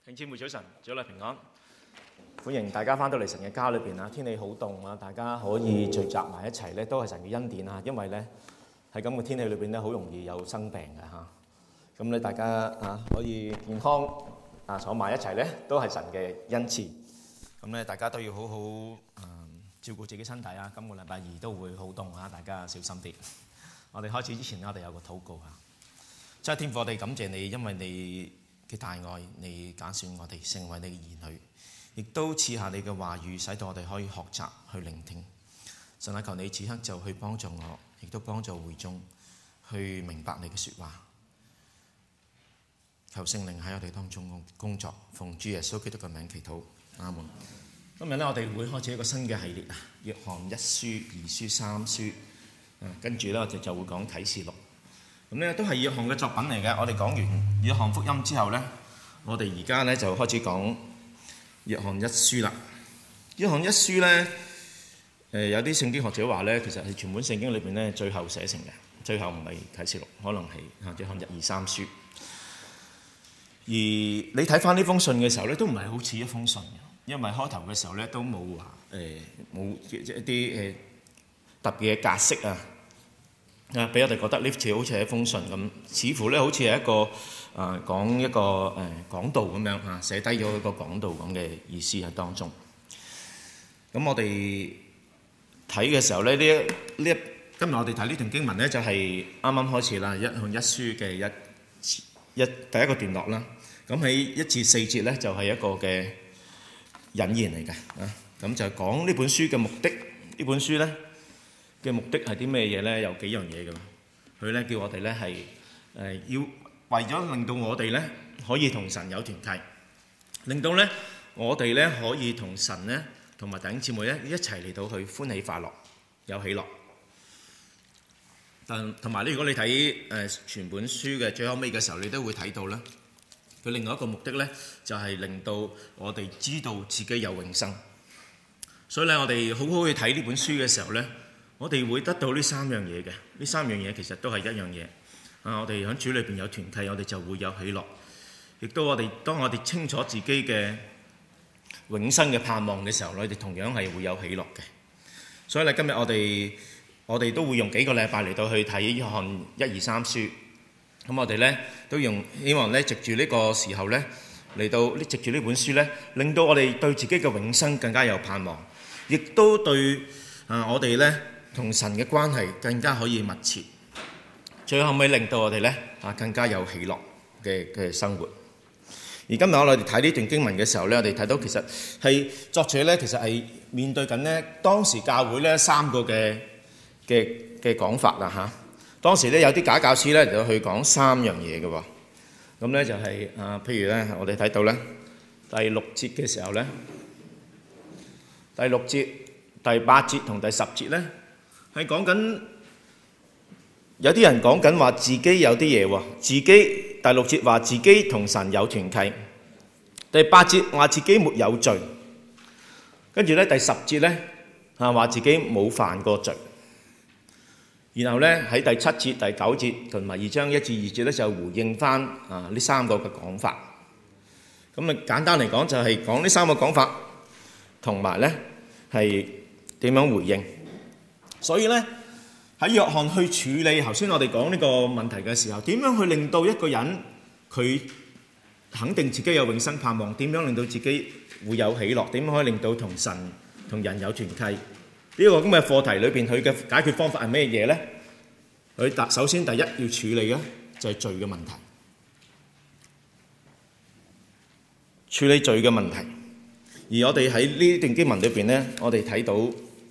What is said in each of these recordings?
弟兄姊妹早晨，主內平安，歡迎大家翻到嚟神嘅家裏邊啊！天氣好凍啊，大家可以聚集埋一齊咧，都係神嘅恩典啊！因為咧喺咁嘅天氣裏邊咧，好容易有生病嘅嚇。咁咧大家可以健康坐埋一齊咧，都係神嘅恩賜。咁咧大家都要好好照顧自己身體啊！今個禮拜二都會好凍啊，大家小心啲。我哋開始之前咧，我哋有個禱告啊！真係天父，我哋感謝你，因為你嘅大愛，你揀選我哋成為你嘅兒女，亦都賜下你嘅話語，使到我哋可以學習去聆聽。神啊，求你此刻就去幫助我，亦都幫助會眾去明白你嘅説話。求聖靈喺我哋當中工作，奉主耶穌基督嘅名祈禱，阿門。今日咧，我哋會開始一個新嘅系列啊，約翰一書、二書、三書。跟住咧，我哋就會講啟示錄。咁咧都係約翰嘅作品嚟嘅。我哋講完約翰福音之後咧，我哋而家咧就開始講約翰一書啦。約翰一書咧，有啲聖經學者話咧，其實係全本聖經裏邊咧最後寫成嘅，最後唔係啟示錄，可能係約翰一二三書。而你睇翻呢封信嘅時候咧，都唔係好似一封信嘅，因為開頭嘅時候咧都冇話冇一啲特別嘅格式啊。俾我哋覺得呢次好似係一封信咁，似乎咧好似係一個講一個講道咁樣嚇，寫低咗一個講道咁嘅意思喺當中。咁我哋睇嘅時候咧，今日我哋睇呢段經文咧，就係啱啱開始啦，約翰一書嘅第一個段落啦。咁喺1至4節咧，就係一個嘅引言嚟嘅啊。咁就講呢本書嘅目的，呢本書咧嘅目的係啲咩嘢咧？有幾樣嘢嘅。佢咧叫我哋咧係要為咗令到我哋咧可以同神有團契，令到咧我哋咧可以同神咧同埋弟兄姊妹咧一齊嚟到去歡喜快樂，有喜樂。同埋咧，如果你睇全本書嘅最後尾嘅時候，你都會睇到咧，佢另外一個目的咧就係令到我哋知道自己有永生。所以咧，我哋好好去睇呢本書嘅時候咧，我哋會得到呢三樣嘢嘅，呢三樣嘢其實都係一樣嘢。我哋喺主裏邊有團契，我哋就會有喜樂。亦都當我哋清楚自己嘅永生嘅盼望嘅時候，我哋同樣係會有喜樂嘅。所以咧，今日我哋都會用幾個禮拜嚟到去睇約翰1、2、3書。咁我哋咧都希望咧藉住呢個時候咧嚟到藉住呢本書咧，令到我哋對自己嘅永生更加有盼望，亦都對我哋咧同神嘅關係更加可以密切，最後尾令到我哋咧更加有喜樂嘅生活。而今日我哋睇呢段經文嘅時候咧，我哋睇到其實係作者咧，其實係面對緊咧當時教會咧三個嘅講法啦嚇。當時咧有啲假教師咧嚟到去講三樣嘢嘅喎。咁咧就係譬如咧我哋睇到咧第6節嘅時候咧，第6節、第8節同第10節咧，係講緊有啲人講緊話自己有啲嘢喎，自己第6節話自己同神有團契，第8節話自己沒有罪，跟住咧第10節咧話自己冇犯過罪，然後咧喺第7節、第9節同埋2章1至2節咧就回應翻呢三個嘅講法。咁啊簡單嚟講就係講呢三個講法，同埋咧係點樣回應。所以咧喺約翰去處理頭先我哋講呢個問題嘅時候，點樣去令到一個人佢肯定自己有永生盼望，點樣令到自己會有喜樂，點樣可以令到同神同人有團契，呢個咁嘅課題裏邊佢嘅解決方法係咩嘢咧？佢首先第一要處理嘅就係罪嘅問題，處理罪嘅問題。而我哋喺呢段經文裏邊咧，我哋睇到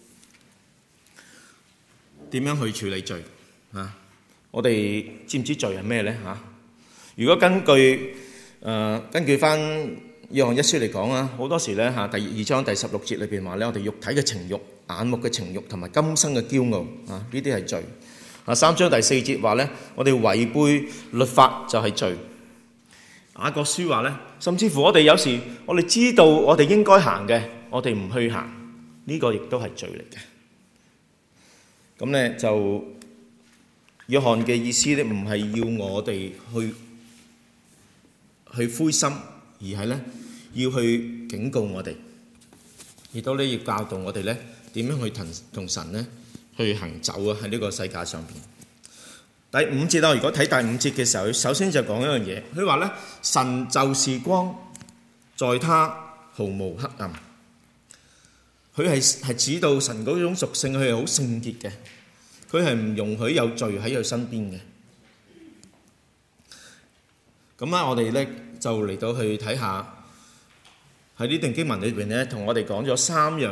點樣去處理罪啊？我哋知唔知罪係咩咧嚇？如果根據翻約翰一書嚟講啊，好多時咧嚇第2章第16節裏邊話咧，我哋肉體嘅情慾、眼目嘅情慾同埋今生嘅驕傲啊，呢啲係罪。3章第4節話咧，我哋違背律法就係罪。雅各書話咧，甚至乎我哋有時我哋知道我哋應該行嘅，我哋唔去行，呢個亦都係罪嚟嘅。咁咧就約翰嘅意思咧，唔係要我哋去灰心， 而係咧要去警告我哋，亦都咧要教導我哋咧點樣去同神咧去行走啊喺呢個世界上邊。第5節如果睇第5節嘅時候，首先就講一樣嘢，佢話咧神就是光，在他毫無黑暗。佢係指到神嗰種屬性，佢係好聖潔嘅，佢係唔容許有罪喺佢身邊嘅。咁我哋咧就嚟到去睇下喺呢段經文裏邊咧，同我哋講咗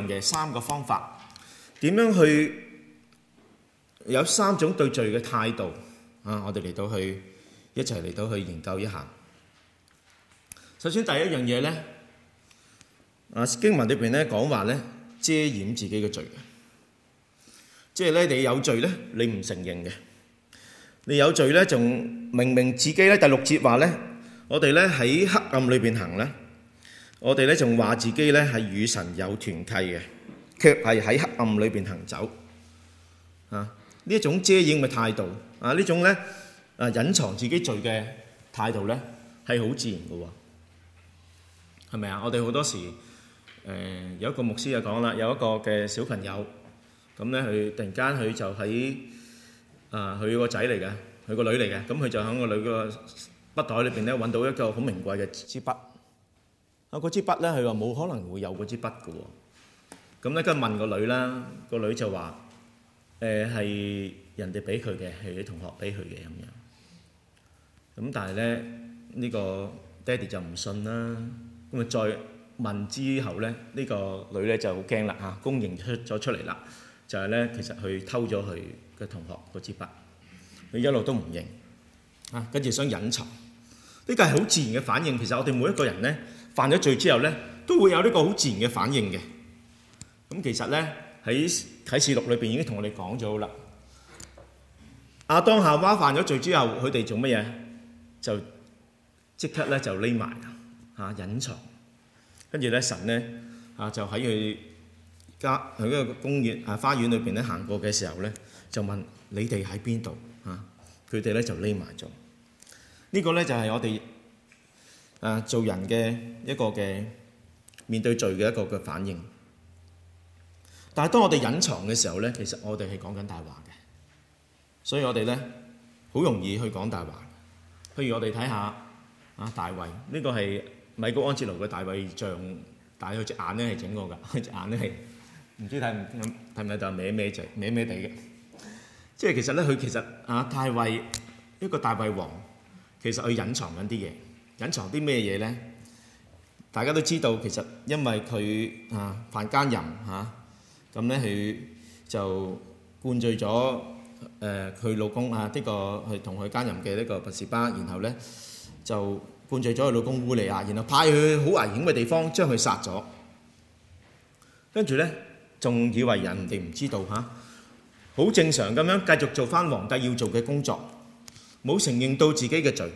3個方法，點樣去有3種對罪嘅態度啊！我哋嚟到去一齊嚟到去研究一下。首先第一樣嘢咧，經文裏邊咧講話咧遮掩自己嘅罪，即係咧你有罪咧，你唔承認嘅。你有罪咧，仲明明自己咧第6節話咧，我哋咧喺黑暗裏邊行咧，我哋咧仲話自己咧係與神有團契嘅，卻係喺黑暗裏邊行走。呢一種遮掩嘅態度，呢種咧隱藏自己罪嘅態度咧，係好自然嘅喎，係咪啊？我哋好多時有一個牧師就講啦，有一個嘅小朋友，咁咧佢突然間佢就喺佢個仔嚟嘅，佢個女嚟嘅，咁佢就喺個女個筆袋裏邊咧揾到一個好名貴嘅支筆。嗰支筆咧，佢話冇可能會有嗰支筆嘅喎。咁咧跟住問個女啦，個女就話係人哋俾佢嘅，係啲同學俾佢嘅咁樣。咁但係咧呢個爹哋就唔信啦。咁啊再問之後咧，呢個女咧就好驚啦嚇，公認咗出嚟啦，就係咧其實佢偷咗佢嘅同學嗰支筆，佢一路都唔認跟住想隱藏。呢個係好自然嘅反應。其實我哋每一個人咧犯咗罪之後咧，都會有呢個好自然嘅反應嘅。咁其實咧喺啟示錄裏邊已經同我哋講咗啦。亞當夏娃犯咗罪之後，佢哋做乜嘢？就即刻咧就匿埋隱藏。跟住咧神咧就喺佢嗰個公園花園裏邊咧行過嘅時候咧，就問你哋喺邊度？佢哋咧就匿埋咗。呢個咧就係我哋做人嘅一個嘅面對罪嘅一個嘅反應。但係當我哋隱藏嘅時候咧，其實我哋係講緊大話嘅，所以我哋咧好容易去講大話。譬如我哋睇下大衛，呢個係米高安哲羅嘅大衛像，但係佢隻眼咧係整過㗎，佢隻眼咧係唔知睇唔睇到歪歪地嘅。即係其實咧，佢其實大衛一個大衛王，其實佢隱藏緊啲嘢，隱藏啲咩嘢咧？大家都知道，其實因為佢犯奸淫咁咧佢就灌醉咗佢老公呢個係同佢奸淫嘅呢個拔示巴，然後咧就灌醉咗佢老公烏利亞，然後派佢好危險嘅地方將佢殺咗，跟住咧仲以為人哋唔知道好正常咁樣繼續做翻皇帝要做嘅工作，冇承認到自己嘅罪，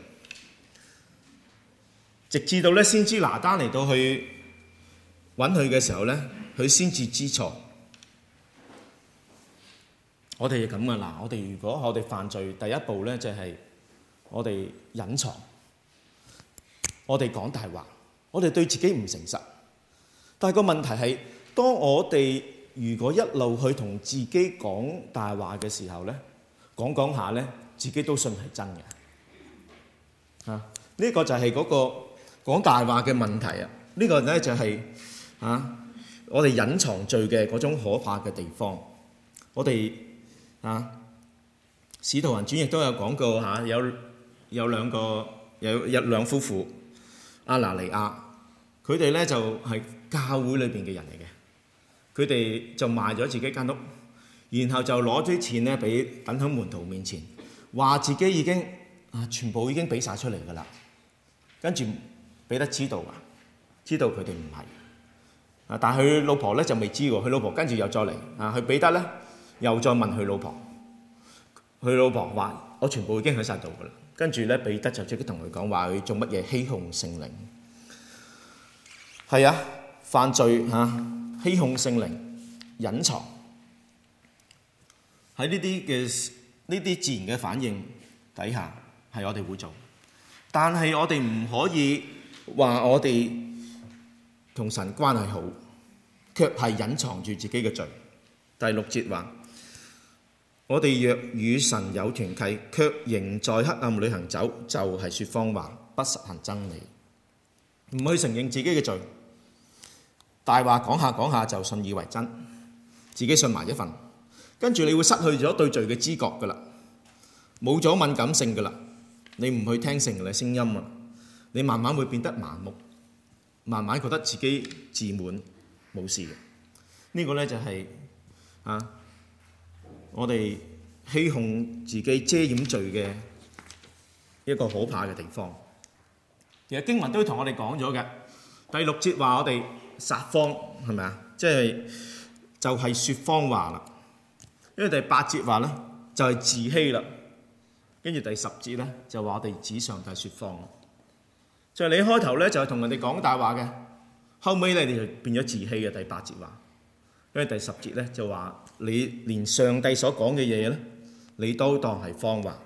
直至到咧先知拿單嚟到去揾佢嘅時候咧，佢先至知錯。我哋係咁噶啦，如果我哋犯罪，第一步咧就係我哋隱藏，我哋講大話，我哋對自己唔誠實。但係個問題係，當我哋如果一路去同自己講大話嘅時候咧，講下咧，自己都信係真嘅。呢個就係嗰個講大話嘅問題啊！呢個咧就係我哋隱藏罪嘅嗰種可怕嘅地方。我哋使徒行傳亦都有講過有兩夫婦亞拿尼亞，佢哋咧就係教會裏邊嘅人嚟嘅，佢哋就賣咗自己間屋，然後就攞啲錢咧俾等喺門徒面前，話自己已經全部已經俾晒出嚟噶啦。跟住彼得知道佢哋唔係，但係佢老婆咧就未知喎。佢老婆跟住又再嚟佢彼得咧又再問佢老婆，佢老婆話我全部已經喺晒度噶啦。跟住咧彼得就即刻同佢講話，佢做乜嘢欺哄聖靈？係犯罪欺哄聖靈，隱藏喺呢啲自然嘅反應底下係我哋會做，但係我哋唔可以話我哋同神關係好，卻係隱藏住自己嘅罪。第6節話：我哋若與神有團契，卻仍在黑暗裏行走，就係説謊話，不實行真理。唔去承認自己嘅罪，大話講下講下就信以為真，自己信埋一份，跟住你會失去咗對罪嘅知覺噶啦，冇咗敏感性噶啦，你唔去聽聖靈嘅聲音啊，你慢慢會變得麻木，慢慢覺得自己自滿冇事嘅。呢個呢就係我哋欺哄自己遮掩罪嘅一個可怕嘅地方。其實經文都同我哋講咗嘅，第6節話我哋撒謊，係咪啊？就係説謊話啦。因為第8節話咧就係自欺啦，跟住第10節咧就話我哋指上帝説謊。就係你開頭咧就係同人哋講大話嘅，後尾咧你就變咗自欺嘅。第8節話，因為第10節咧就話你連上帝所講嘅嘢咧，你都當係謊話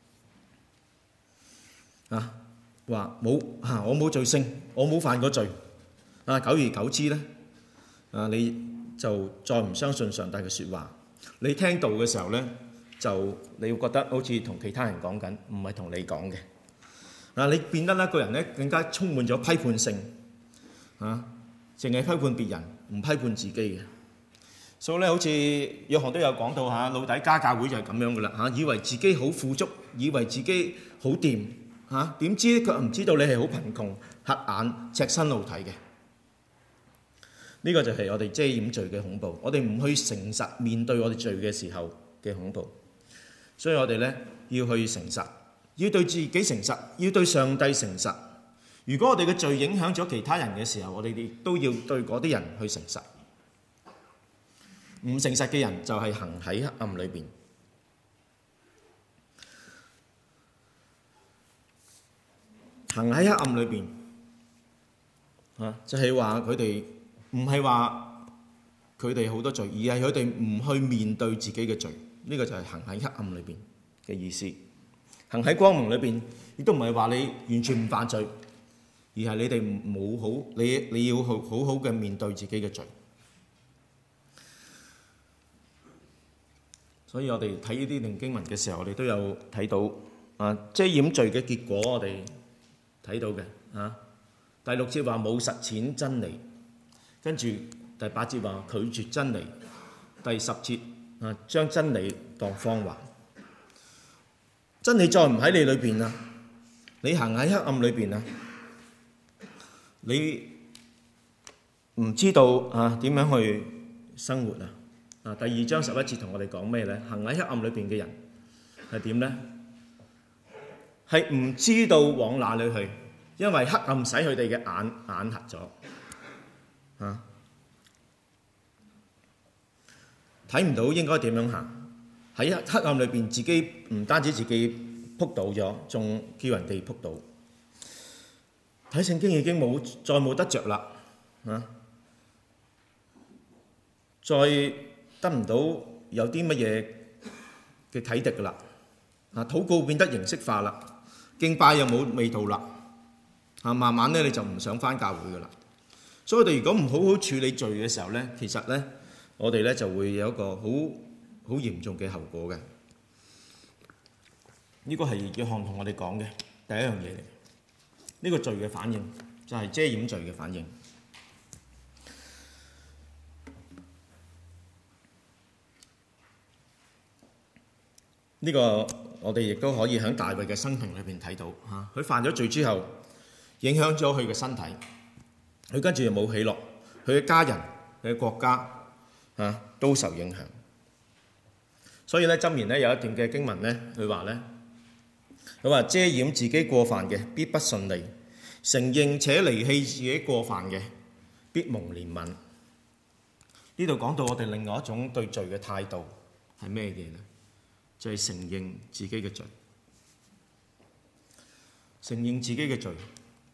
啊！話冇我冇罪性，我冇犯過罪啊！久而久之咧你就再唔相信上帝嘅説話。你聽到嘅時候咧，就你會覺得好似同其他人講緊，唔係同你講嘅。你變得一個人咧更加充滿咗批判性淨係批判別人，唔批判自己嘅。所以咧，好似約翰都有講到老底嘉教會就係咁樣噶啦以為自己好富足，以為自己好掂點知佢唔知道你係好貧窮、瞎眼、赤身露體嘅。呢個就係我哋遮掩罪嘅恐怖。我哋唔去誠實面對我哋罪嘅時候嘅恐怖。所以我哋咧要去誠實，要對自己誠實，要對上帝誠實。如果我哋嘅罪影響咗其他人嘅時候，我哋亦都要對嗰啲人去誠實。唔誠實嘅人就係行喺黑暗裏邊。行喺黑暗裏邊就係話佢哋唔係話佢哋好多罪，而係佢哋唔去面對自己嘅罪。呢個就係行喺黑暗裏邊嘅意思。行喺光明裏邊，亦都唔係話你完全唔犯罪，而係你哋冇好，你要好好嘅面對自己嘅罪。所以我哋睇呢啲靈經文嘅時候，我哋都有睇到遮掩罪嘅結果，我哋睇到嘅第6節話冇實踐真理，跟住第8節話拒絕真理，第10節將真理當謊話。真理再唔喺你裏邊啦，你行喺黑暗裏邊啦，你唔知道點樣去生活啊？第2章11節同我哋講咩呢？行喺黑暗裏邊嘅人係點呢？係唔知道往哪裏去，因為黑暗使佢哋嘅眼瞎咗，睇唔到應該點樣行。喺黑暗裏邊，自己唔單止自己仆倒咗，仲叫人哋仆倒。睇聖經已經再冇得着啦，再得唔到有啲乜嘢嘅啟迪噶啦。禱告變得形式化啦，敬拜又冇味道啦。慢慢咧你就唔想返教會噶啦。所以我哋如果唔好好處理罪嘅時候咧，其實咧我哋咧就會有一個好嚴重嘅後果嘅。呢個係約翰同我哋講嘅第一樣嘢嚟。呢個罪嘅反應就係遮掩罪嘅反應。呢個我哋亦都可以喺大衛嘅生平裏邊睇到佢犯咗罪之後，影響咗佢嘅身體，佢跟住又冇喜樂，佢嘅家人、佢嘅國家都受影響。所以咧，箴言咧有一段嘅經文咧，佢話遮掩自己過犯嘅必不順利，承認且離棄自己過犯嘅必蒙憐憫。呢度講到我哋另外一種對罪嘅態度係咩嘢呢？就係承認自己嘅罪，承認自己嘅罪，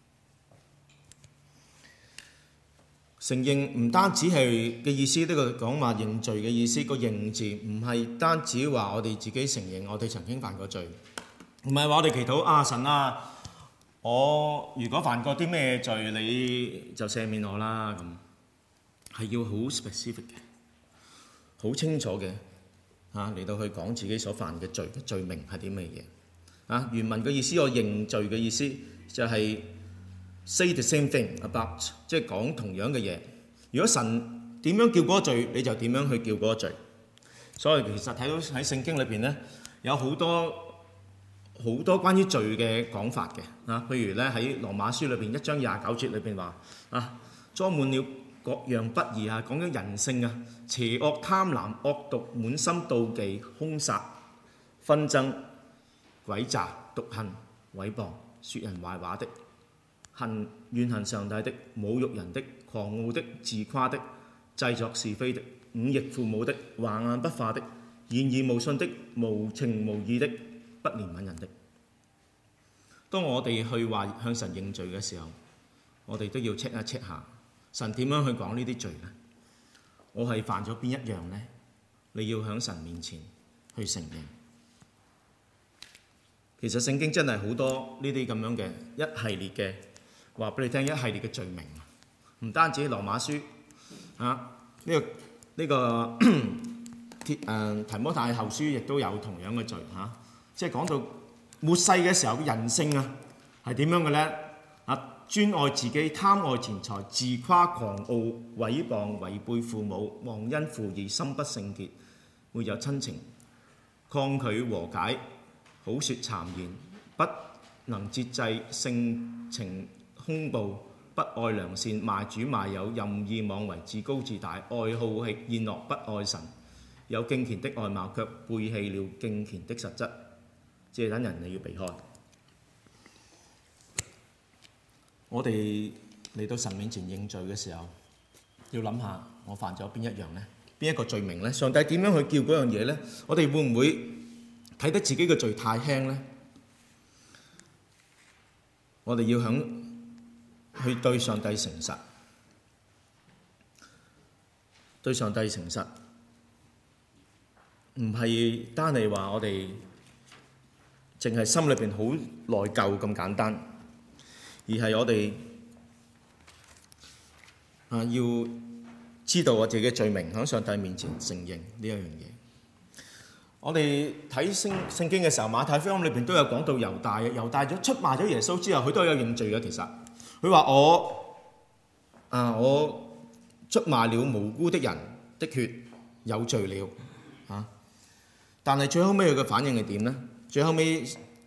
承認唔單止係嘅意思，呢個講話認罪嘅意思，個認字唔係單止話我哋自己承認我哋曾經犯過罪，唔係話我哋祈禱神啊， 我如果犯過啲咩罪，你就赦免我啦。咁係要好 specific 嘅，好清楚嘅嚟到去講自己所犯嘅罪嘅罪名係啲咩嘢。原文嘅意思，我認罪嘅意思就係 say the same thing about， 即係講同樣嘅嘢。如果神點樣叫嗰個罪，你就點樣去叫嗰個罪。所以其實睇到喺聖經裏邊咧，有好多關於罪嘅講法嘅。譬如咧喺羅馬書裏邊1章29節裏邊話裝滿了各樣不義講緊人性邪惡、貪婪、惡毒、滿心妒忌、兇殺、紛爭、詭詐、毒恨、毀謗、說人壞話的、怨恨上帝的、侮辱人的、狂傲的、自誇的、製作是非的、忤逆父母的、橫硬不化的、言而無信的、無情無義的、不憐憫人的。當我哋去話向神認罪嘅時候，我哋都要 check 一 check 下神點樣去講呢啲罪呢？我係犯咗邊一樣呢？你要喺神面前去承認。其實聖經真係好多呢啲咁樣嘅一系列嘅話俾你聽，一系列嘅罪名，唔單止羅馬書呢個提摩太後書亦都有同樣嘅罪即係講到末世嘅時候嘅人性係點樣嘅呢？專愛自己、貪愛錢財、自誇狂傲、毀謗、違背父母、忘恩負義、心不聖潔、沒有親情、抗拒和解、好説讒言、不能節制、性情兇暴、不愛良善、賣主賣友、任意妄為、自高自大、愛好宴樂、不愛神，有敬虔的外貌卻背棄了敬虔的實質。這等人你要避開。我哋嚟到神面前認罪嘅時候，要諗下我犯咗邊一樣呢？邊一個罪名呢？上帝點樣去叫嗰樣嘢呢？我哋會唔會睇得自己嘅罪太輕呢？我哋要去對上帝誠實，對上帝誠實，唔係單係話我哋淨係心裏邊好內疚咁簡單，而係我哋要知道我自己嘅罪名，喺上帝面前承認呢一樣嘢。我哋睇聖經嘅時候，馬太福音裏邊都有講到猶大出賣咗耶穌之後，佢都有認罪嘅。其實佢話我出賣了無辜的人的血，有罪了但係最後尾佢嘅反應係點呢？最後尾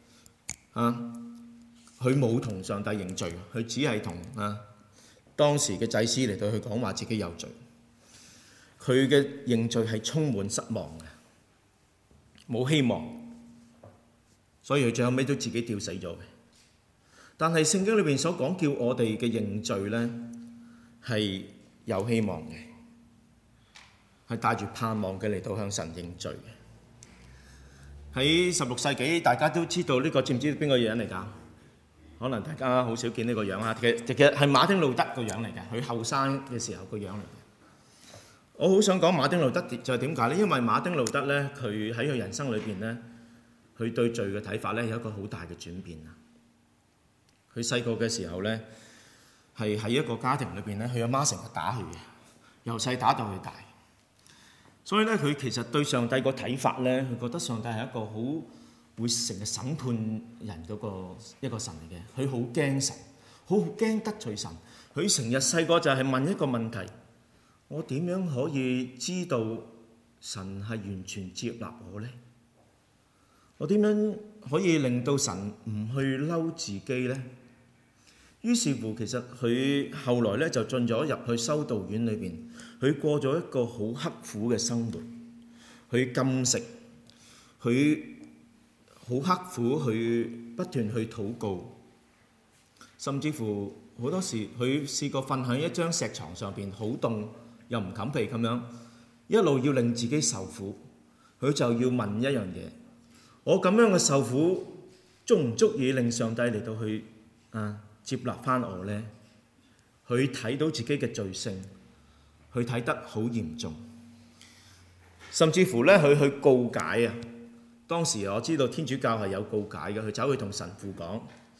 佢冇同上帝認罪，佢只係同當時嘅祭司嚟到去講話自己有罪。佢嘅認罪係充滿失望嘅，冇希望，所以佢最後尾都自己吊死咗嘅。但係聖經裏邊所講叫我哋嘅認罪呢，係有希望嘅，係帶住盼望嘅嚟到向神認罪嘅。喺16世紀，大家都知道呢個，知唔知邊個人嚟㗎？可能大家好少見呢個樣其實係馬丁路德個樣嚟嘅，佢後生嘅時候個樣嚟嘅。我好想講馬丁路德就係點解呢？因為馬丁路德呢，佢喺佢人生裏邊呢，佢對罪嘅睇法呢有一個好大嘅轉變。佢細個嘅時候呢，係喺一個家庭裏邊呢，佢阿媽成日打佢嘅，由細打到佢大。所以咧，佢其實對上帝個睇法咧，佢覺得上帝係一個好會成日審判人嗰一個神嚟嘅。佢好驚神，好驚得罪神。佢成日細個就係問一個問題：我點樣可以知道神係完全接納我呢？我點樣可以令到神唔去嬲自己呢？於是乎，其實佢後來咧就進咗入去修道院裏邊，佢過咗一個好刻苦嘅生活，佢禁食，佢好刻苦，去不斷去禱告，甚至乎好多時佢試過瞓喺一張石床上邊，好凍又唔冚被咁樣，一路要令自己受苦。佢就要問一樣嘢：我咁樣嘅受苦，足唔足以令上帝嚟到去接納翻我呢？佢睇到自己嘅罪性，佢睇得好嚴重，甚至乎咧佢去告解啊！當時我知道天主教係有告解嘅，佢走去同神父講，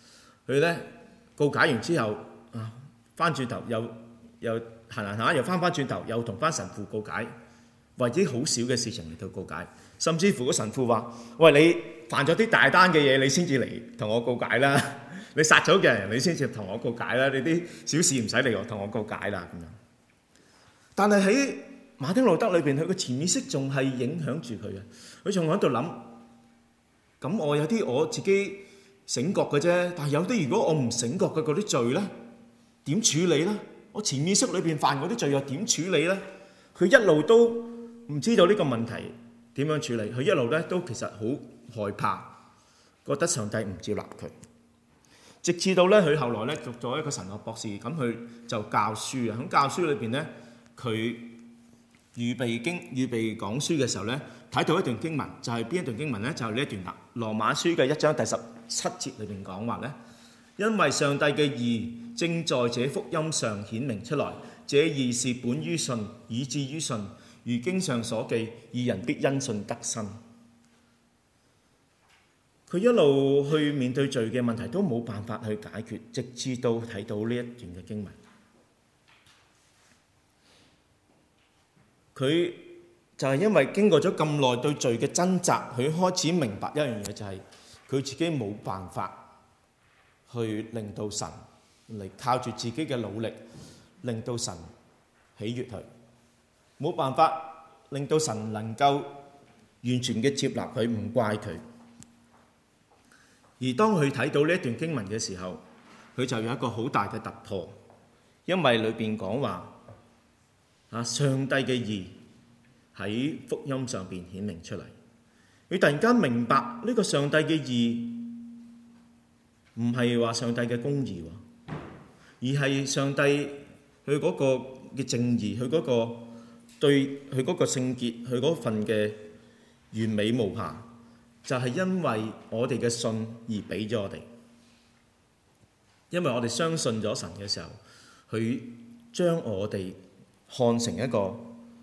佢咧告解完之後啊，翻轉頭又行下又翻轉頭又同翻神父告解，為啲好少嘅事情嚟到告解，甚至乎個神父話：喂，你犯咗啲大單嘅嘢，你先至嚟同我告解啦！你殺咗嘅人，你先至同我告解啦！你啲小事唔使嚟同我告解啦咁樣。但係喺馬丁路德裏邊，佢個潛意識仲係影響住佢嘅，佢仲喺度諗：咁我有啲我自己醒覺嘅啫，但係有啲如果我唔醒覺嘅嗰啲罪咧，點處理咧？我潛意識裏邊犯嗰啲罪又點處理咧？佢一路都唔知道呢個問題點樣處理，佢一路咧都其實好害怕，覺得上帝唔接納佢。直至到咧佢後來咧讀咗一個神學博士，咁佢就教書啊。喺教書裏邊咧，佢預備講書嘅時候咧，睇到一段經文，就係邊一段經文咧？就係呢一段啦，《羅馬書》嘅1章第17節裏邊講話咧，因為上帝嘅義正在這福音上顯明出來，這義是本於信，以致於信。如經上所記，義人必因信得生。佢一路去面對罪嘅問題都冇辦法去解決，直至到睇到呢一段嘅經文，佢就係因為經過咗咁耐對罪嘅掙扎，佢開始明白一樣嘢，就係佢自己冇辦法去令到神嚟靠住自己嘅努力令到神喜悅佢，冇辦法令到神能夠完全嘅接納佢，唔怪佢。而當佢睇到呢一段經文嘅時候，佢就有一個好大嘅突破，因為裏邊講話上帝嘅義喺福音上邊顯明出嚟。佢突然間明白呢個上帝嘅義唔係話上帝嘅公義，而係上帝佢嗰個嘅正義，佢嗰個對佢嗰個聖潔，佢嗰份嘅完美無瑕，就係因為我哋嘅信而俾咗我哋。因為我哋相信咗神嘅時候，佢將我哋看成一個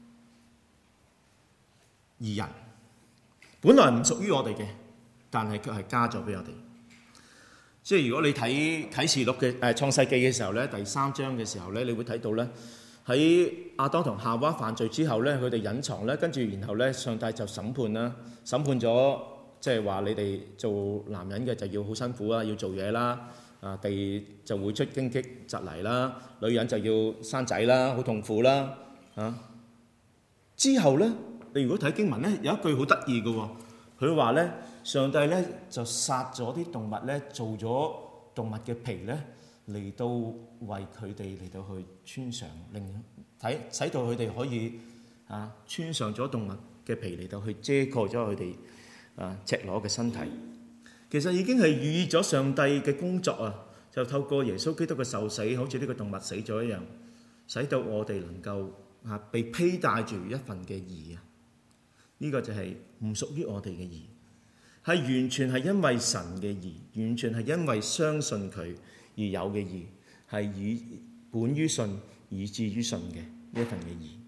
義人，本來唔屬於我哋嘅，但係卻係加咗俾我哋。即係如果你睇啟示錄嘅創世記嘅時候咧，第3章嘅時候咧，你會睇到咧，喺亞當同夏娃犯罪之後咧，佢哋隱藏咧，跟住然後咧，上帝就審判啦，審判咗，即係話你哋做男人嘅就要好辛苦啦，要做嘢啦，地就會出荊棘蒺藜啦，女人就要生仔啦，好痛苦啦，之後咧，你如果睇經文咧，有一句好得意嘅喎，佢話咧，上帝咧就殺咗啲動物咧，做咗動物嘅皮咧，嚟到為佢哋嚟到去穿上，使到佢哋可以穿上咗動物嘅皮嚟到去遮蓋咗佢哋赤裸嘅身體。其實已經係預咗上帝嘅工作啊，就透過耶穌基督嘅受死，好似呢個動物死咗一樣，使到我哋能夠被披戴住一份嘅義啊！呢個就係唔屬於我哋嘅義，係完全係因為神嘅義，完全係因為相信佢而有嘅義，係以本於信以致於信嘅呢一份嘅義。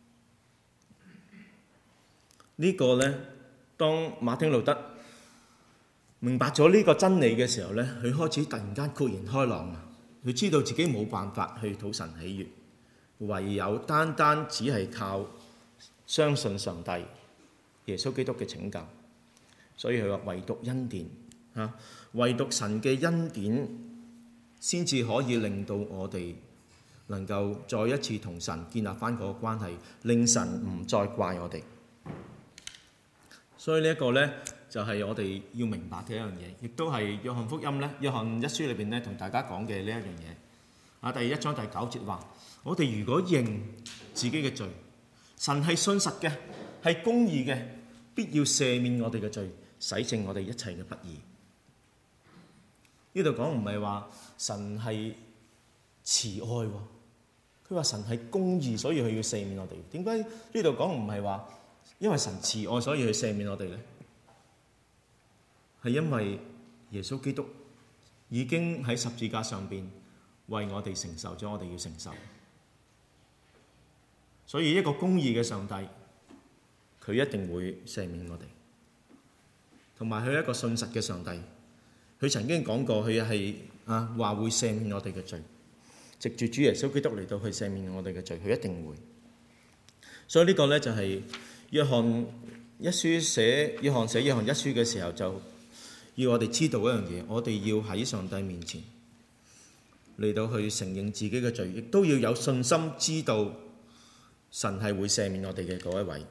呢個呢，當馬丁路德明白咗呢個真理嘅時候呢，佢開始突然間豁然開朗啊！佢知道自己冇辦法去討神喜悅，唯有單單只係靠相信上帝耶穌基督嘅拯救。所以佢話唯獨恩典唯獨神嘅恩典先至可以令到我哋能夠再一次同神建立翻嗰個關係，令神唔再怪我哋。所以呢一個呢，就係我哋要明白嘅一樣嘢，亦都係約翰福音咧，約翰一書裏邊咧同大家講嘅呢一樣嘢。第1章第9節話：我哋如果認自己嘅罪，神係信實嘅，係公義嘅，必要赦免我哋嘅罪，洗淨我哋一切嘅不義。呢度講唔係話神係慈愛喎，佢話神係公義，所以佢要赦免我哋。點解呢度講唔係話因為神慈愛所以去赦免我哋呢？係因為耶穌基督已經喺十字架上邊為我哋承受咗我哋要承受，所以一個公義嘅上帝，佢一定會赦免我哋。同埋佢係一個信實嘅上帝，佢曾經講過佢係話會赦免我哋嘅罪，藉住主耶穌基督嚟到去赦免我哋嘅罪，佢一定會。所以呢個呢，就係約翰寫約翰一書嘅時候，就要我哋知道一樣嘢，我哋要喺上帝面前嚟到去承認自己嘅罪，亦都要有信心知道神係會赦免我哋嘅嗰一位。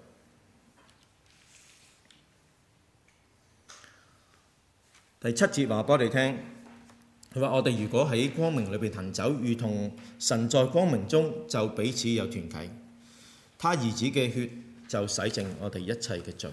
第7節話俾我哋聽，佢話我哋如果喺光明裏邊行走，如同神在光明中，就彼此有團契。他兒子嘅血就洗淨我哋一切嘅罪。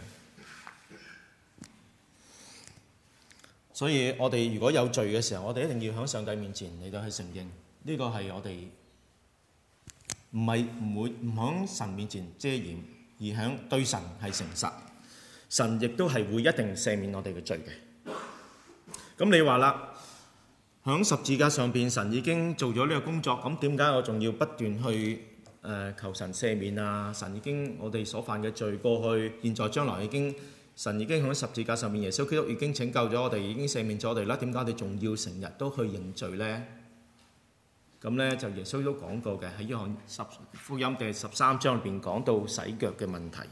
所以我哋如果有罪嘅時候，我哋一定要喺上帝面前嚟到去承認，呢個係我哋唔喺神面前遮掩，而喺對神係誠實。神亦都係會一定赦免我哋嘅罪嘅。咁你話啦，喺十字架上邊，神已經做咗呢個工作，咁點解我仲要不斷去求神赦免啊？神已經我哋所犯嘅罪過去、現在、將來神已經喺十字架上面，耶穌基督已經拯救咗我哋，已經赦免咗我哋啦。點解我哋仲要成日都去認罪呢？咁呢，就耶穌都講過嘅，喺約翰福音第13章裏邊講到洗腳嘅問題。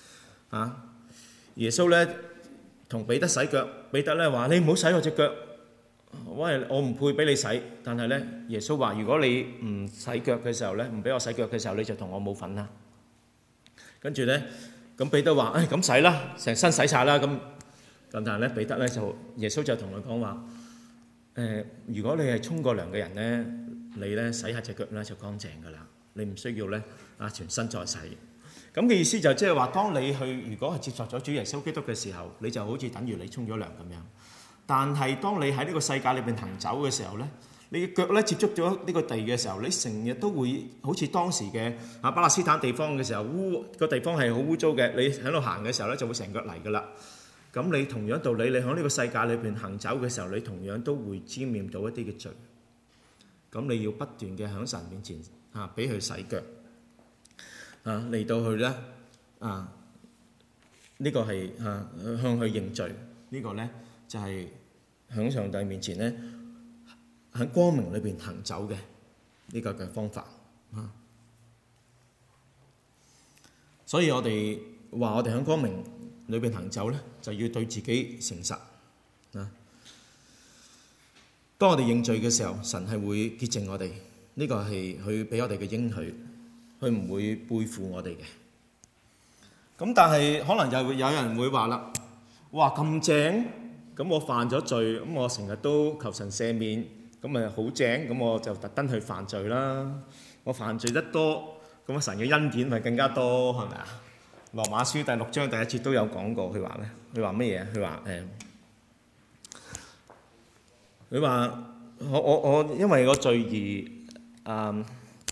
耶穌呢同彼得洗腳，彼得呢話：你唔好洗我隻腳，我唔配俾你洗。但係呢，耶穌話：如果你唔洗腳嘅時候呢，唔俾我洗腳嘅時候，你就同我冇份啦。跟住呢。咁彼得話：咁洗啦，成身洗晒啦。咁但係咧，彼得咧耶穌就同佢講話：如果你係沖過涼嘅人咧，你咧洗下隻腳咧就乾淨噶啦，你唔需要咧全身再洗。咁嘅意思就即係話，當你如果係接受咗主耶穌基督嘅時候，你就好似等於你沖咗涼咁樣。但係當你喺呢個世界裏邊行走嘅時候咧，你嘅腳咧接觸咗呢個地嘅時候，你成日都會好似當時嘅巴勒斯坦地方嘅時候，個地方係好污糟嘅。你喺度行嘅時候咧，就會成腳泥噶啦。咁你同樣道理，你喺呢個世界裏邊行走嘅時候，你同樣都會沾染到一啲嘅罪。咁你要不斷嘅喺神面前俾佢洗腳嚟到去咧呢個係向佢認罪。呢個咧就係喺上帝面前咧，喺光明裏邊行走嘅呢個嘅方法。所以我哋話我哋喺光明裏邊行走咧，就要對自己誠實。當我哋認罪嘅時候，神係會潔淨我哋，呢個係佢俾我哋嘅應許，佢唔會背負我哋嘅。咁但係可能又會有人會話啦：哇，咁正，咁我犯咗罪，咁我成日都求神赦免，咁咪好正，咁我就特登去犯罪啦。我犯罪得多，咁神嘅恩典咪更加多，係咪啊？羅馬書第6章第1節都有講過，佢話咩？佢話乜嘢？佢話佢話我因為個罪而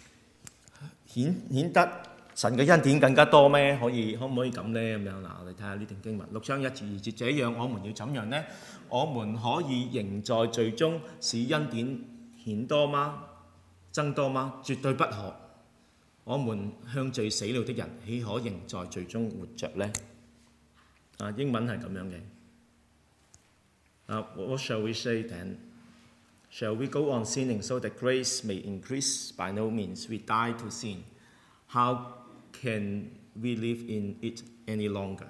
顯得神嘅恩典更加多咩？可唔可以咁呢？咁樣嗱，我哋睇下呢段經文6章1至2節，這樣我們要怎樣呢？我們可以仍在罪中使恩典顯多嗎？增多嗎？絕對不可。我們向罪死了的人，豈可仍在罪中活着呢？英文係咁樣嘅。What shall we say then? Shall we go on sinning so that grace may increase? By no means. We die to sin. How can we live in it any longer?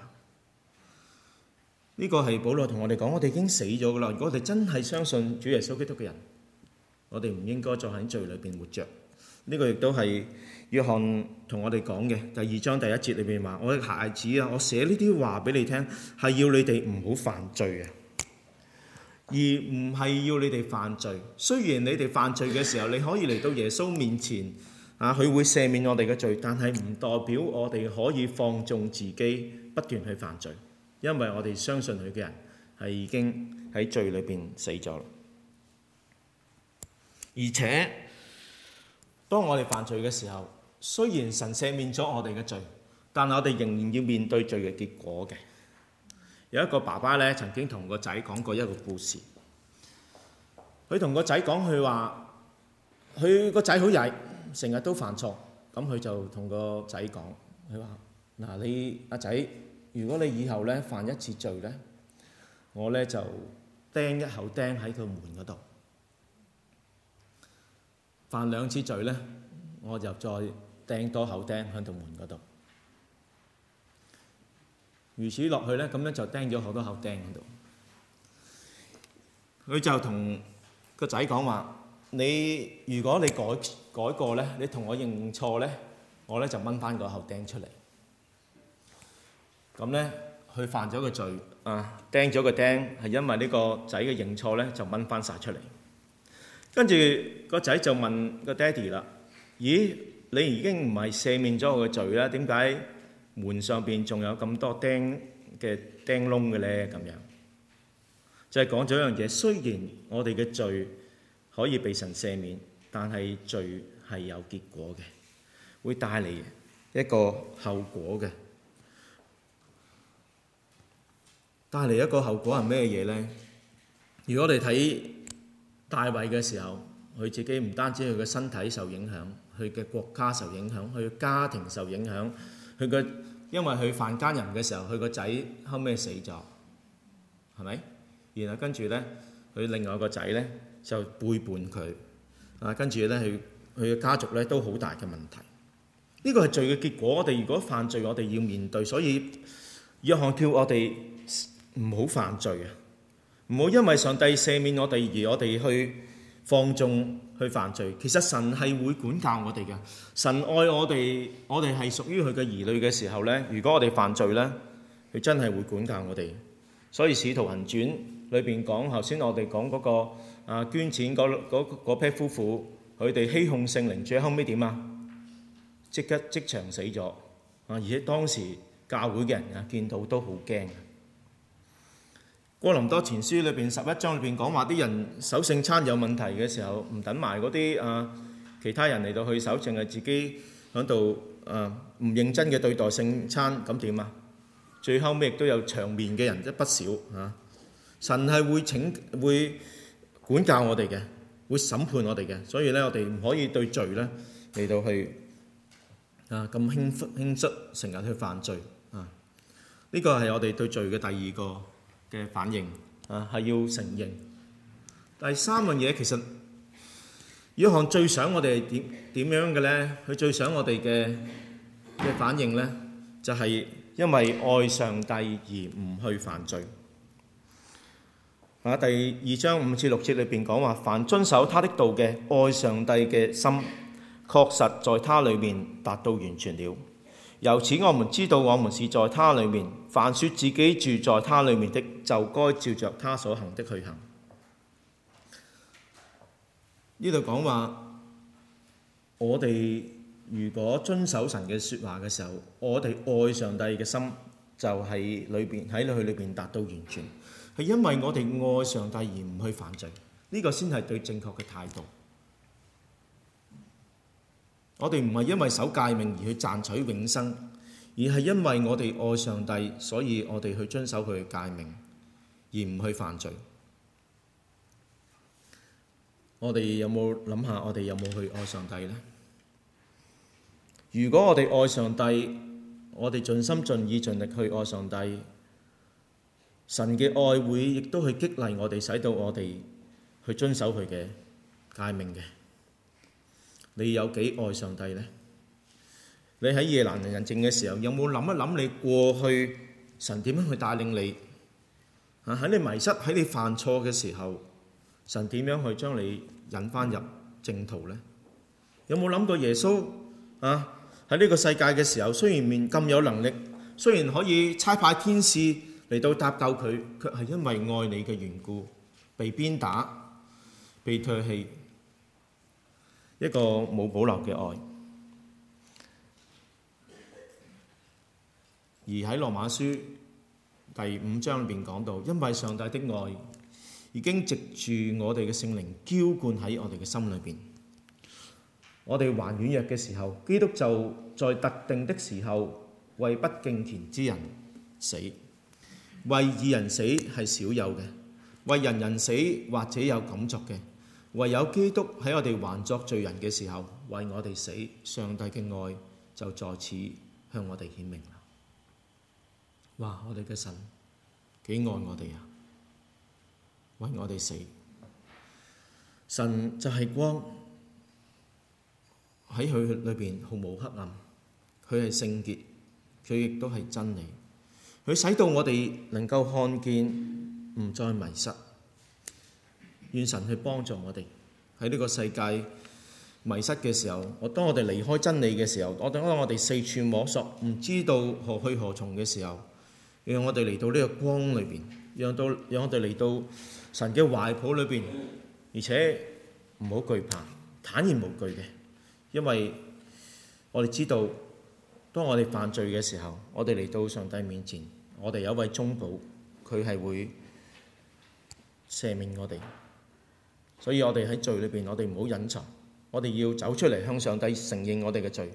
呢個係保羅同我哋講，我哋已經死咗噶啦。如果我哋真係相信主耶穌基督嘅人，我哋唔應該再喺罪裏邊活着。呢個亦都係約翰同我哋講嘅第2章第1節裏邊話：我嘅孩子啊，我寫呢啲話俾你聽，係要你哋唔好犯罪啊，而唔係要你哋犯罪。雖然你哋犯罪嘅時候，你可以嚟到耶穌面前佢會赦免我哋嘅罪，但係唔代表我哋可以放縱自己不斷去犯罪，因為我哋相信佢嘅人係已經喺罪裏邊死咗啦。而且當我哋犯罪嘅時候，雖然神赦免咗我哋嘅罪，但係我哋仍然要面對罪嘅結果嘅。有一個爸爸咧，曾經同個仔講過一個故事。佢同個仔講，佢話佢個仔好曳，成日都犯錯。咁佢就同個仔講，佢話：嗱，你阿仔，如果你以後咧犯一次罪咧，我咧就釘一口釘喺佢門嗰度。 犯2次罪咧，我就再釘多口釘喺度門嗰度。如此落去咧，咁樣就釘咗好多口釘喺度。佢就同個仔講話：如果你改過咧，你同我認錯咧，我咧就掹翻個口釘出嚟。咁咧，佢犯咗個罪釘咗個釘，係因為呢個仔嘅認錯咧，就掹翻晒出嚟。跟住個仔就問個爹哋啦：咦，你已經唔係赦免咗我嘅罪啦？點解門上邊仲有咁多釘窿嘅咧？咁樣就係講咗一樣嘢。雖然我哋嘅罪可以被神赦免，但係罪係有結果嘅，會帶嚟一個後果嘅。帶嚟一個後果係咩嘢咧？如果我哋睇大衛嘅時候，佢自己唔單止佢嘅身體受影響，佢嘅國家受影響，佢嘅家庭受影響，因為佢犯奸淫嘅時候，佢個仔後尾死咗，係咪？然後跟住咧，佢另外個仔咧就背叛佢，跟住咧佢嘅家族咧都好大嘅問題。呢個係罪嘅結果。我哋如果犯罪，我哋要面對。所以約翰叫我哋唔好犯罪啊！唔好因為上帝赦免我哋而我哋去放縱去犯罪。其實神係會管教我哋嘅。神愛我哋，我哋係屬於佢嘅兒女嘅時候咧，如果我哋犯罪咧，佢真係會管教我哋。所以《使徒行傳》裏邊講，頭先我哋講嗰個捐錢嗰批夫婦，佢哋欺哄聖靈，最後尾點啊？即場死咗而且當時教會嘅人見到都好驚。哥林多前書裏邊11章裏邊講話，啲人守聖餐有問題嘅時候，唔等埋嗰啲其他人嚟到去守，淨係自己喺度唔認真嘅對待聖餐，咁點啊？最後尾亦都有場面嘅人不少神係會管教我哋嘅，會審判我哋嘅。所以咧，我哋唔可以對罪咧嚟到去咁輕率，成日去犯罪呢個係我哋對罪嘅第二個嘅反應係要承認。第三樣嘢，其實約翰最想我哋係點樣嘅咧？佢最想我哋嘅反應咧，就係因為愛上帝而唔去犯罪。第2章5至6節裏邊講話，凡遵守他的道嘅，愛上帝嘅心確實在他裏面達到完全了。由此我們知道我們是在他裏面。凡說自己住在他裏面的，就該照着他所行的去行。呢度講話，我哋如果遵守神嘅説話嘅時候，我哋愛上帝嘅心就喺佢裏邊達到完全，係因為我哋愛上帝而唔去犯罪。呢個先係對正確嘅態度。我哋唔係因為守誡命而去賺取永生，而係因為我哋愛上帝，所以我哋去遵守佢嘅誡命，而唔去犯罪。我哋有冇諗下，我哋有冇去愛上帝呢？如果我哋愛上帝，我哋盡心盡意盡力去愛上帝，神嘅愛會亦都去激勵我哋，使到我哋去遵守佢嘅誡命嘅。你有幾愛上帝呢？你喺夜闌人靜嘅時候，有冇諗一諗你過去神點樣去帶領你？喺你迷失、喺你犯錯嘅時候，神點樣去將你引返入正途呢？有冇諗過耶穌喺呢個世界嘅時候，雖然咁有能力，雖然可以差派天使嚟到搭救佢，卻係因為愛你嘅緣故，被鞭打、被唾棄。一個冇保留嘅愛。而喺羅馬書第5章裏邊講到，因為上帝的愛已經藉住我哋嘅聖靈澆灌喺我哋嘅心裏邊。我哋還軟弱嘅時候，基督就在特定的時候為不敬虔之人死。為義人死係少有嘅，為人人死或者有敢作嘅。唯有基督喺我哋還作罪人嘅時候為我哋死，上帝嘅愛就在此向我哋顯明啦。哇！我哋嘅神幾愛我哋啊，為我哋死。神就係光， 喺佢裏邊毫無黑暗，佢係聖潔，佢亦都係真理，佢使到我哋能夠看見，唔再迷失。願神去幫助我哋喺呢個世界迷失嘅時候，當我哋離開真理嘅時候，當我哋四處摸索，唔知道何去何從嘅時候，讓我哋嚟到呢個光裏邊，讓我哋嚟到神嘅懷抱裏邊，而且唔好懼怕，坦然無懼嘅，因為我哋知道，當我哋犯罪嘅時候，我哋嚟到上帝面前，我哋有一位中保，佢係會赦免我哋。所以我哋喺罪裏邊，我哋唔好隱藏，我哋要走出嚟向上帝承認我哋嘅罪。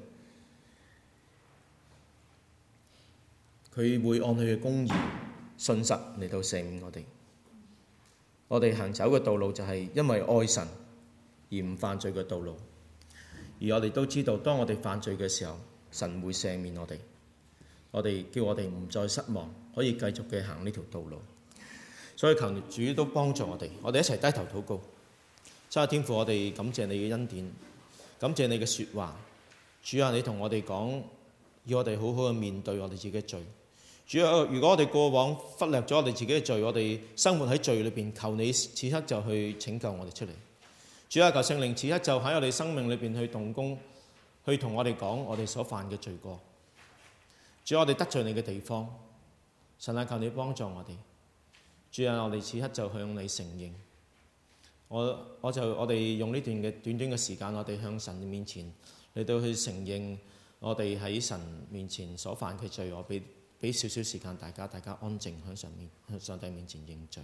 佢會按佢嘅公義、信實嚟到赦免我哋。我哋行走嘅道路就係因為愛神而唔犯罪嘅道路。而我哋都知道，當我哋犯罪嘅時候，神會赦免我哋。我哋叫我哋唔再失望，可以繼續嘅行呢條道路。所以求主都幫助我哋，我哋一齊低頭禱告。真係天父，我哋感謝你嘅恩典，感謝你嘅説話。主啊，你同我哋講，要我哋好好嘅面對我哋自己嘅罪。主啊，如果我哋過往忽略咗我哋自己嘅罪，我哋生活喺罪裏邊，求你此刻就去拯救我哋出嚟。主啊，求聖靈此刻就喺我哋生命裏邊去動工，去同我哋講我哋所犯嘅罪過。主啊，我哋得罪你嘅地方，神啊，求你幫助我哋。主啊，我哋此刻就向你承認。我哋用呢段嘅短短嘅時間，我哋向神面前嚟到去承認我哋喺神面前所犯嘅罪。我俾少少時間大家安靜向上帝面前認罪。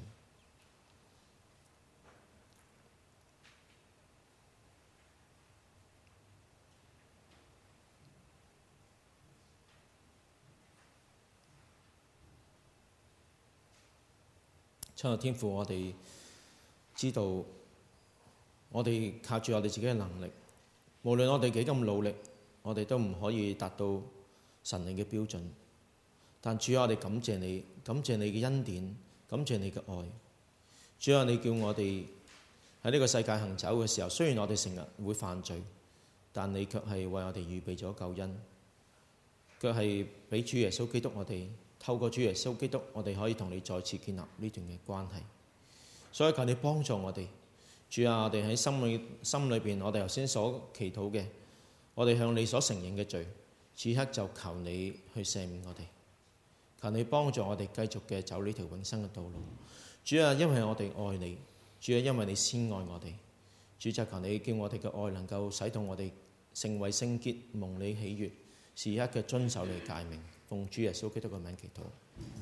親愛的天父，我哋知道，我哋靠住我哋自己嘅能力，無論我哋幾咁努力，我哋都唔可以達到神你嘅標準。但主啊，我哋感謝你，感謝你嘅恩典，感謝你嘅愛。主啊，你叫我哋喺呢個世界行走嘅時候，雖然我哋成日會犯罪，但你卻係為我哋預備咗救恩，卻係俾主耶穌基督我哋。透過主耶穌基督，我哋可以同你再次建立呢段嘅關係。所以求你幫助我哋，主啊，我哋喺心裏邊，我哋頭先所祈禱嘅，我哋向你所承認嘅罪，此刻就求你去赦免我哋。求你幫助我哋繼續嘅走呢條永生嘅道路。主啊，因為我哋愛你，主啊，因為你先愛我哋，主就求你叫我哋嘅愛能夠使到我哋成為聖潔，蒙你喜悅，時刻嘅遵守你誡命。奉主耶穌基督嘅名祈禱。